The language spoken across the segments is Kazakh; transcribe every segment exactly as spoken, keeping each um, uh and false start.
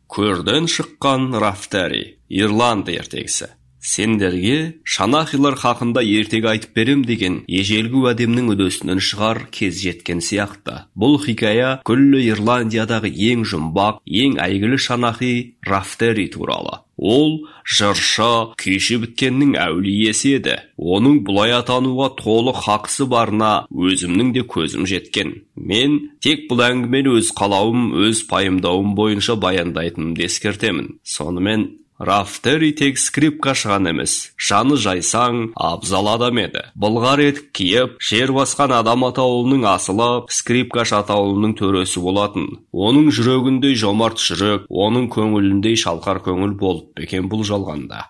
Көрден шыққан Рафтери, Ирланд ертегісі. Сендерге шанахилар хақында ертегі айтып берем деген ежелгі уәдемнің үдесінен шығар кез жеткен сияқты. Бұл хикая күллі Ирландиядағы ең жұмбақ, ең әйгілі шанахи Рафтери туралы. Ол жыршы, күйші біткеннің әулиесі еді. Оның бұлай атануға толық хақысы барына өзімнің де көзім жеткен. Мен тек бұл әңгімені өз қалауым, өз пайымдауым бойынша баяндайтынымды ескертемін. Сонымен Рафтери тек скрипкашыған емес, жаны жайсаң, абзал адам еді. Былғар етік киіп, жер басқан адам атаулының асылы скрипкаш атаулының төресі болатын. Оның жүрегіндей жомарт жүрек, оның көңіліндей шалқар көңіл болып бекен бұл жалғанда.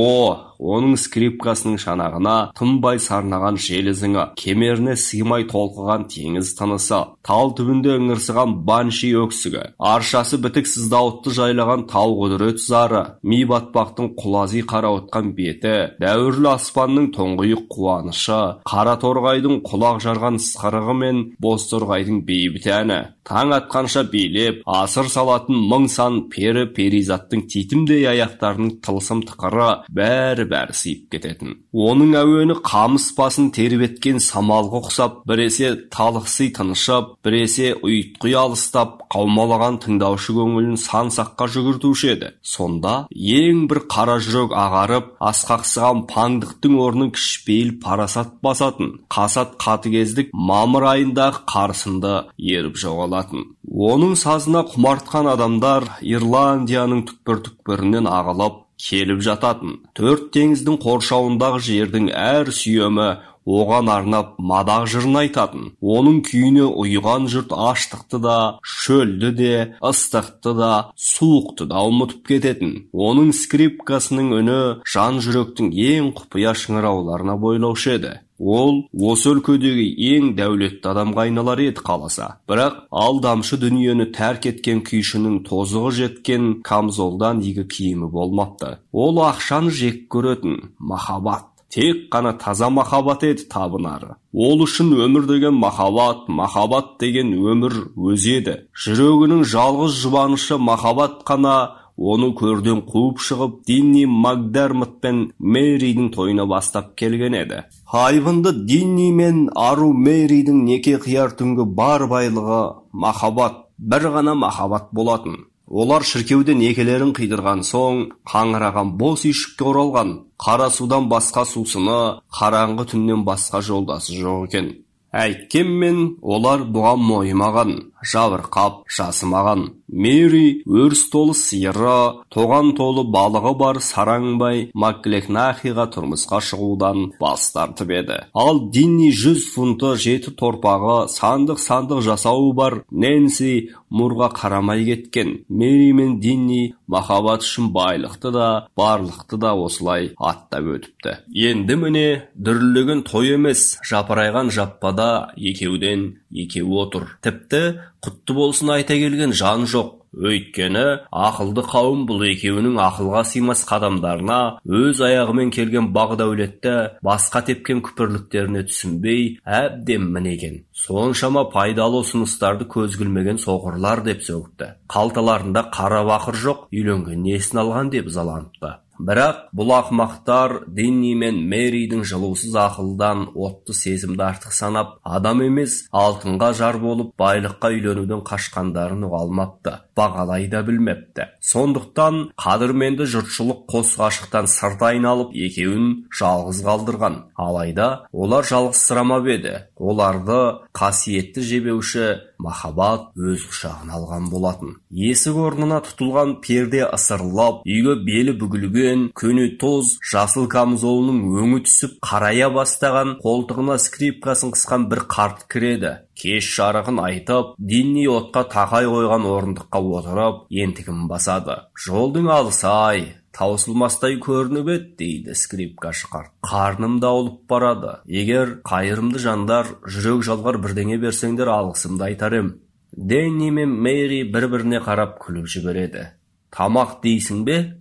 О, оның скрипкасының шанағына тынбай сарнаған жел ізіңі, кемеріне сыймай толқыған теңіз тынысы, тал түбінде ыңырсыған банши өксігі, аршасы бітіксіз дауытты жайлаған тау құдірет зары, ми батпақтың құлази қарауытқан беті, дәуірлі аспанның тоңғиық қуанышы, қара торғайдың құлақ жарған сықырығы мен боз торғайдың бейбіт әні, таң атқанша билеп, асыр салатын мың сан пері перизаттың титімдей аяқтарының тылсым тықыры бәрі-бәрі сыйып кететін. Оның әуені қамыс басын тербеткен самалға ұқсап, біресе талықсый тынышып, біресе ұйытқи алыстап, қаумалаған тыңдаушы көңілін сан саққа жүгіртуші еді. Сонда ең бір қара жүрек ағарып, асқақсыған паңдықтың орнын кішіпейіл парасат басатын, қасат қатыгездік мамыр айындағы қарсынды еріп жоғалатын. Оның сазына құмартқан адамдар Ирландияның түкпір-түкпірінен ағылып келіп жататын. Төрт теңіздің қоршауындағы жердің әр сүйемі оған арнап мадақ жырын айтатын. Оның күйіне ұйыған жұрт аштықты да, шөлді де, ыстықты да, суықты да ұмытып кететін. Оның скрипкасының үні жан жүректің ең құпия шыңырауларына бойлаушы еді. Ол осы өлкедегі ең дәулетті адамға айналар еді қаласа. Бірақ алдамшы дүниені тәрк еткен күйшінің тозығы жеткен камзолдан игі киімі болмапты. Ол ақшаны жек көретін махаббат. Тек қана таза махаббат еді табынары. Ол үшін өмір деген махаббат, махаббат деген өмір өзі еді. Жүрегінің жалғыз жұбанышы махаббат қана оны көрден қуып шығып, Динни Макдермот пен Мэридің тойына бастап келген еді. Хайвынды Динни мен ару Мэридің неке қияр түнгі бар байлығы махаббат, бір ғана махаббат болатын. Олар шіркеуде некелерін қидырған соң, қаңыраған бос үйшікке оралған. Қара судан басқа сусыны, қараңғы түннен басқа жолдасы жоқ екен. Әйткенмен олар бұған мойымаған, жабырқап, жасымаған. Мэри өріс толы сиыры, тоған толы балығы бар сараңбай Маклекнахиға тұрмысқа шығудан бас тартып еді. Ал Динни жүз фунты жеті торпағы, сандық-сандық жасауы бар Нэнси Мурға қарамай кеткен. Мэри мен Динни махаббат үшін байлықты да, барлықты да осылай аттап өтіпті. Енді міне дүрлеген той емес, жапырайған жаппада екеуден екеу отыр. Тіпті құтты болсын айта келген жан жоқ. Өйткені ақылды қауым бұл екеуінің ақылға сыймас қадамдарына, өз аяғымен келген бақ дәулетті басқа тепкен күпірліктеріне түсінбей әбден мінеген. Соншама пайдалы ұсыныстарды көз білмеген соқырлар деп сөгіпті. Қалталарында қара бақыр жоқ, үйленген несін алған деп ызаланыпты. Бірақ бұл ақымақтар Динни мен Мэридің жылусыз ақылдан отты сезімді артық санап, адам емес алтынға жар болып байлыққа үйленуден қашқандарын ұғалмапты, бағалай да білмепті. Сондықтан қадірменді жұртшылық қос ғашықтан сырт айналып екеуін жалғыз қалдырған. Алайда олар жалғызсырамап еді. Оларды қасиетті жебеуші махаббат өз құшағына алған болатын. Есік орнына тұтылған перде ысырылып, үйге белі бүгілген, көне тоз жасыл камзолының өңі түсіп қарая бастаған, қолтығына скрипкасын қысқан бір қарт кіреді. Кеш жарығын айтып, Динни отқа тақай қойған орындыққа отырып, ентігін басады. Жолдың алысы-ай, таусылмастай көрініп еді, дейді скрипкашы қарт. Қарным даулып барады. Егер қайырымды жандар жүрек жалғар бірдеңе берсеңдер алғысымды айтар ем. Динни мен Мэри бір-біріне қарап күліп жібереді. Тамақ дейсің бе?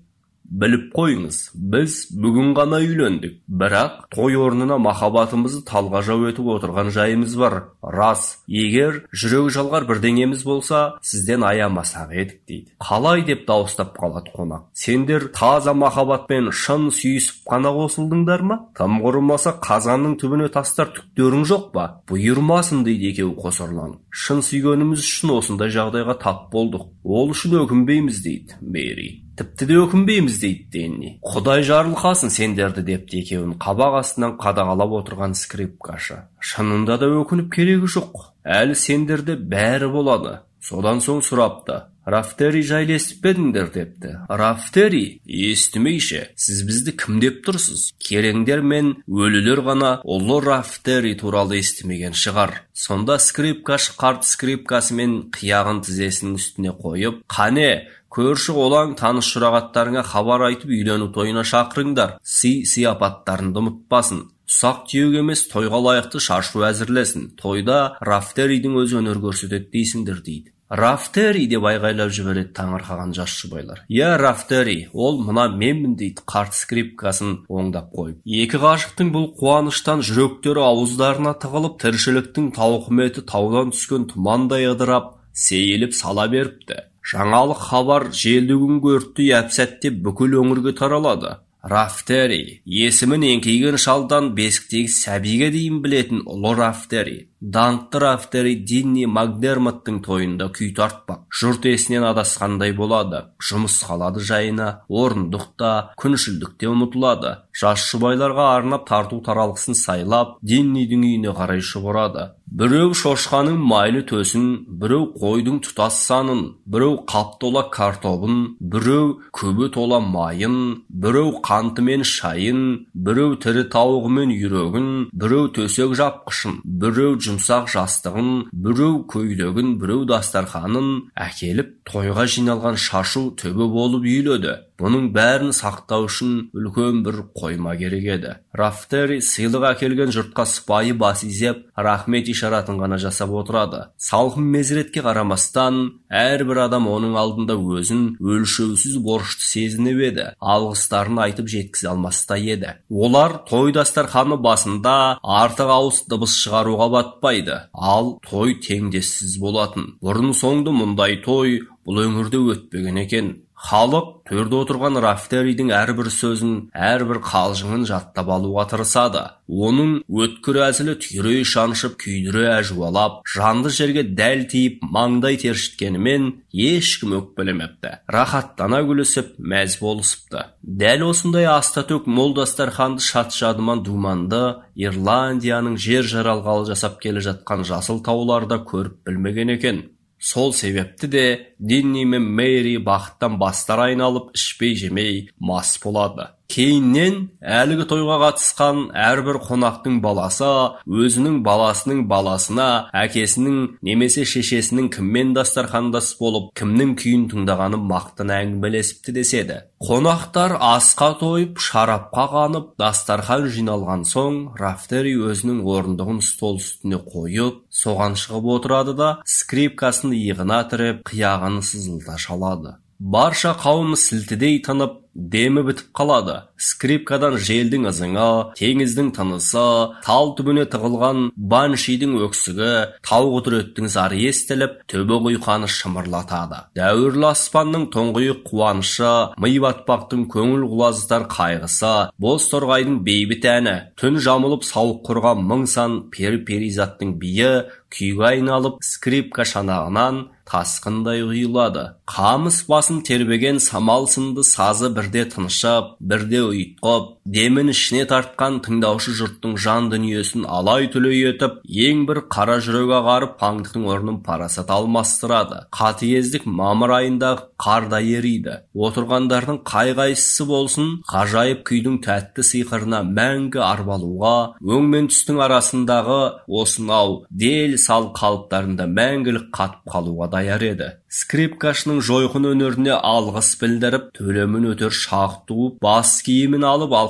Біліп қойыңыз, біз бүгін ғана үйлендік, бірақ той орнына махаббатымызды талғажау етіп отырған жайымыз бар. Рас, егер жүрек жалғар бірдеңеміз болса, сізден аямасақ едік дейді. Қалай деп дауыстап қалады қонақ. Сендер таза махаббатпен шын сүйісіп қана қосылдыңдар ма? Тым құрымаса қазанның түбіне тастар түктерің жоқ па? Бұйырмасын дейді екеуі қосарланып. Шын сүйгеніміз үшін осындай жағдайға тап болдық. Ол үшін өкінбейміз дейді Мэри. Тіпті де өкінбейміз дейді Денни. Құдай жарылқасын сендерді депті екеуін қабақ астынан қадағалап отырған скрипкашы. Шынында да өкініп керегі жоқ. Әлі сендерде бәрі болады. Содан соң сұрапты. Рафтери жайлы естіп пе едіңдер депті. Рафтери, естімейші, сіз бізді кім деп тұрсыз? Кереңдер мен өлілер ғана ұлы Рафтери туралы естімеген шығар. Сонда скрипкашы қарт скрипкасымен қияғын тізесінің үстіне қойып, қане, көрші олаң таныс жұрағаттарыңа хабар айтып үйлену тойына шақырыңдар. Сый-сияпаттарыңды ұмытпасын. Ұсақ түйек емес, тойға лайықты шашу әзірлесін. Тойда Рафтеридің өзі өнер көрсетеді дейсіңдер дейді. Рафтери деп айғайлап жібереді таңырқаған жас жұбайлар. Я, Рафтери, ол мына менмін дейді қарт скрипкасын оңдап қойып. Екі ғашықтың бұл қуаныштан жүректері ауыздарына тығылып, тіршіліктің тауқыметі таудан түскен тұмандай ыдырап, сейіліп сала беріпті. Жаңалық хабар желді күнгі өрттей әп-сәтте бүкіл өңірге таралады. Рафтери, есімін еңкейген шалдан бесіктегі сәбиге дейін білетін ұлы Рафтери. Даңқты Рафтери Динни Макдермоттың тойында күй тартпақ. Жұрт есінен адасқандай болады. Жұмыс қалады жайына, орындықта, күншілдікте ұмытылады. Жас жұбайларға арнап тарту таралғысын сайлап, Диннидің үйіне қарай шұбырады. Біреу шошқаның майлы төсін, біреу қойдың тұтас санын, біреу қап тола картобын, біреу көбі тола майын, біреу қанты мен шайын, біреу тірі тауығы мен үйрегін, біреу төсек жапқышын, біреу жұмсақ жастығын, біреу көйлегін, біреу дастарханын әкеліп тойға жиналған шашу төбе болып үйледі. Бұның бәрін сақтау үшін үлкен бір қойма керек еді. Рафтери сыйлық әкелген жұртқа сыпайы бас изеп, рахмет ишаратын ғана жасап отырады. Салқын мезретке қарамастан, әрбір адам оның алдында өзін өлшеусіз борышты сезініп еді. Алғыстарын айтып жеткізе алмастай еді. Олар той дастарханы басында артық ауыз дыбыс шығаруға батпайды. Ал той теңдессіз болатын. Бұрын соңды мұндай той бұл өңірде өтпеген екен. Халық төрде отырған Рафтеридің әрбір сөзін, әрбір қалжыңын жаттап алуға тырысады. Оның өткір әзілі түйрей шаншып, күйдіре әжуалап, жанды жерге дәл тиіп, маңдай тершіткенімен ешкім өкпелемепті. Рахаттана күлісіп, мәз болысыпты. Дәл осындай астатөк мол дастарханды шат-шадыман думанды Ирландияның жер жаралғалы жасап келе жатқан жасыл тауларда көріп білмеген екен. Сол себепті де Динни мен Мэри бақыттан бастар айналып, ішпей жемей мас болады. Кейіннен әлгі тойға қатысқан әрбір қонақтың баласы өзінің баласының баласына, әкесінің немесе шешесінің кіммен дастархандас болып, кімнің күйін тыңдағанын мақтан әңгімелесіпті деседі. Қонақтар асқа тойып, шарапқа қанып, дастархан жиналған соң, Рафтери өзінің орындығын стол үстіне қойып, соған шығып отырады да, скрипкасын иығына тіреп, қияғын сызылта шалады. Барша қауым сілтідей тынып, демі бітіп қалады. Скрипкадан желдің ызыңы, теңіздің тынысы, тал түбіне тығылған баншидің өксігі, тау құдіреттің зары естіліп, төбе құйқаны шымырлатады. Дәуірлі аспанның тұңғиық қуанышы, ми батпақтың көңіл құлазытар қайғысы, боз торғайдың бейбіт әні, түн жамылып сауық құрған мың сан пер-перизаттың биі күйге айналып, скрипка шанағынан тасқындай ұйылады. Қамыс басын тербеген самал сынды сазы бірде тынышып, бірде ұйытқып, демін ішіне тартқан тыңдаушы жұрттың жан дүниесін алай түлей етіп, ең бір қара жүрек ағарып, паңдықтың орнын парасат алмастырады. Қатыгездік мамыр айындағы қарда ериді. Отырғандардың қай-қайсысы болсын, ғажайып күйдің тәтті сиқырына мәңгі арбалуға, өң мен түстің арасындағы осынау дел сал қалыптарында мәңгілік қатып қалуға даяр еді. Скрипкашының жойқын өнеріне алғыс білдіріп, төлемін өтер шақ туып, бас киімін алып алқа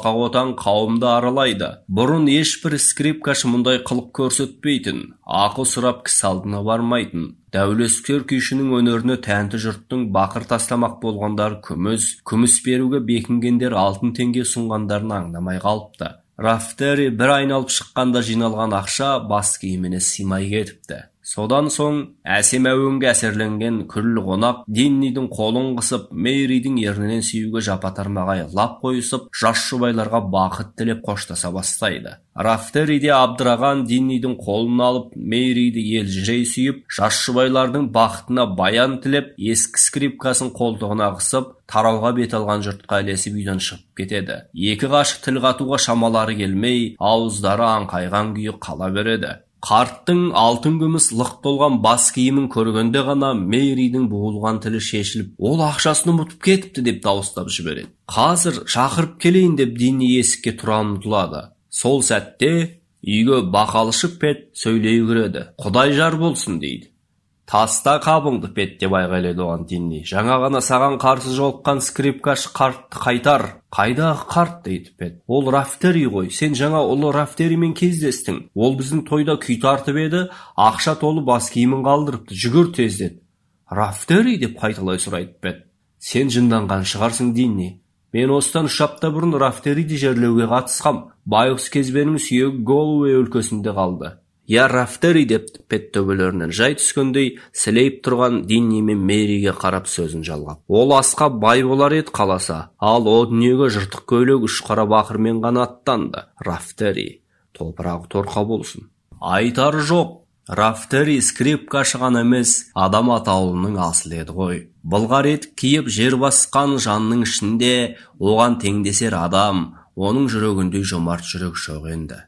қорқақ отан қауымды аралайды. Бұрын ешбір скрипкашы мұндай қылық көрсетпейтін, ақыл сұрап кісі алдына бармайтын. Дәулескер күйшінің өнеріне тәнті жұрттың бақыр тастамақ болғандар күміс, күміс беруге бекінгендер алтын теңге сұнғандарын аңдамай қалыпты. Рафтери бір айналып шыққанда жиналған ақша бас киіміне сыймай кетіпті. Содан соң әсем әуенге әсерленген күллі қонақ Диннидің қолын қысып, Мэридің ернінен сүюге жапа-тармағай лап қойысып, жас жұбайларға бақыт тілеп қоштаса бастайды. Рафтери де абдыраған Диннидің қолын алып, Мэриді елжірей сүйіп, жас жұбайлардың бақытына баян тілеп, ескі скрипкасын қолтығына қысып, тарауға бет алған жұртқа ілесіп үйден шығып кетеді. Екі ғашық тіл қатуға шамалары келмей, ауыздары аңқайған күйі қала береді. Қарттың алтын күміс лық толған бас киімін көргенде ғана Мэридің буылған тілі шешіліп, ол ақшасын ұмытып кетіпті деп дауыстап жібереді. Қазір шақырып келейін деп Динни есікке тұра ұмтылады. Сол сәтте үйге бақалшы Пет сөйлей кіреді. Құдай жар болсын дейді. Таста қабыңды, Пет, деп айғайлайды оған Динни. Жаңа ғана саған қарсы жолыққан скрипкашы қартты қайтар. Қайдағы қарт, дейді Пет. Ол Рафтери ғой. Сен жаңа ұлы Рафтеримен кездестің. Ол біздің тойда күй тартып еді, ақша толы бас киімін қалдырыпты. Жүгір тез деді. Рафтери, деп қайталай сұрайды Пет. Сен жынданған шығарсың, Динни. Мен осыдан үш апта бұрын Рафтериді жерлеуге қатысқам. Байғұс кезбенің сүйегі Голуэй өлкесінде қалды. Я Рафтери, деп Пет төбелерінен жай түскендей сілейіп тұрған Динни мен Мэриге қарап сөзін жалғап. Ол асқа бай болар еді қаласа, ал о дүниеге жыртық көйлек үш қара бақырмен ғана аттанды. Рафтери, топырағы торқа болсын. Айтары жоқ. Рафтери скрипкашы ғана емес, адам атаулының асыл еді ғой. Былғар етік киіп жер басқан жанның ішінде оған теңдесер адам, оның жүрегіндей жомарт жүрек жоқ енді.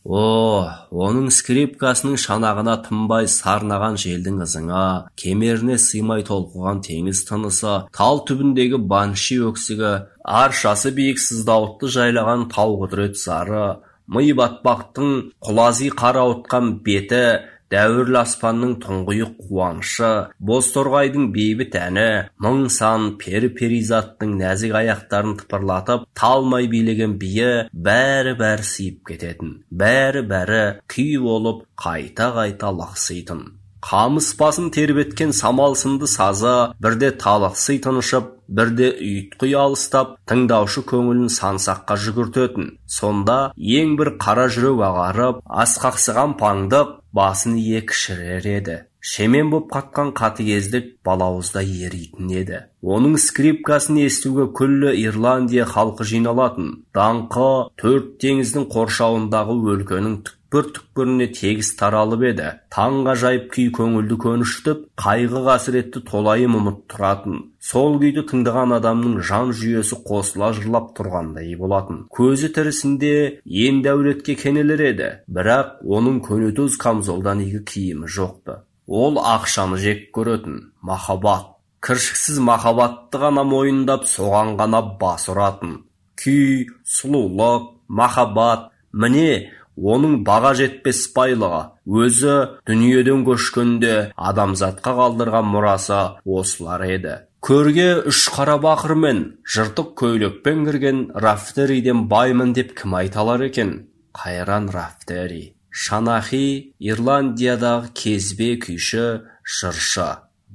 О, оның скрипкасының шанағына тынбай сарнаған желдің ызыңа, кемеріне сыймай толқыған теңіз тынысы, тал түбіндегі банши өксігі, аршасы биік сыздауытты жайлаған тау құдірет зары, ми батпақтың құлази қарауытқан беті, дәуірлі аспанның тұңғиық қуанышы, бозторғайдың бейбіт әні, мың сан пері-перизаттың нәзік аяқтарын тыпырлатып, талмай билеген биі бәрі-бәрі сыйып кететін, бәрі-бәрі күй болып қайта-қайта лақситын. Қамыс басын тербеткен самал сынды сазы бірде талықсый тынышып, бірде ұйытқи алыстап, тыңдаушы көңілін сансаққа жүгіртетін. Сонда ең бір қара жүрек ағарып, асқақсыған паңдық басын екі шірер еді. Шемен боп қатқан қатыгездік балауызда еритін еді. Оның скрипкасын естуге күллі Ирландия халқы жиналатын. Даңқы төрт теңіздің қоршауындағы өлкенің түкпір-түкпіріне тегіс таралып еді. Таңға жайып күй көңілді көніштіп, қайғы қасіретті толайым ұмыт тұратын. Сол күйді тыңдаған адамның жан жүйесі қосыла жырлап тұрғандай болатын. Көзі тірісінде ен дәулетке кенелер еді, бірақ оның көнетөз камзолдан игі киімі жоқты. Ол ақшаны жек көретін, махаббат. Кіршіксіз махаббатты ғана мойындап, соған ғана бас ұратын. Күй, сұлулық, махаббат, міне оның баға жетпес байлығы. Өзі дүниеден көшкенде адамзатқа қалдырған мұрасы осылар еді. Көрге үш қара бақырмен, жыртық көйлекпен кірген Рафтериден баймын деп кім айталар екен? Қайран Рафтери. Шанахи Ирландиядағы кезбе күйші, жыршы.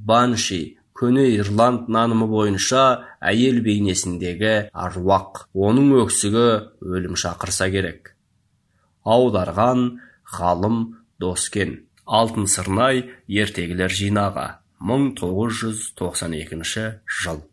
Банши көне Ирланд нанымы бойынша әйел бейнесіндегі аруақ. Оның өксігі өлім шақырса керек. Аударған ғалым Доскен. Алтын сырнай ертегілер жинағы. мың тоғыз жүз тоқсан екінші жыл.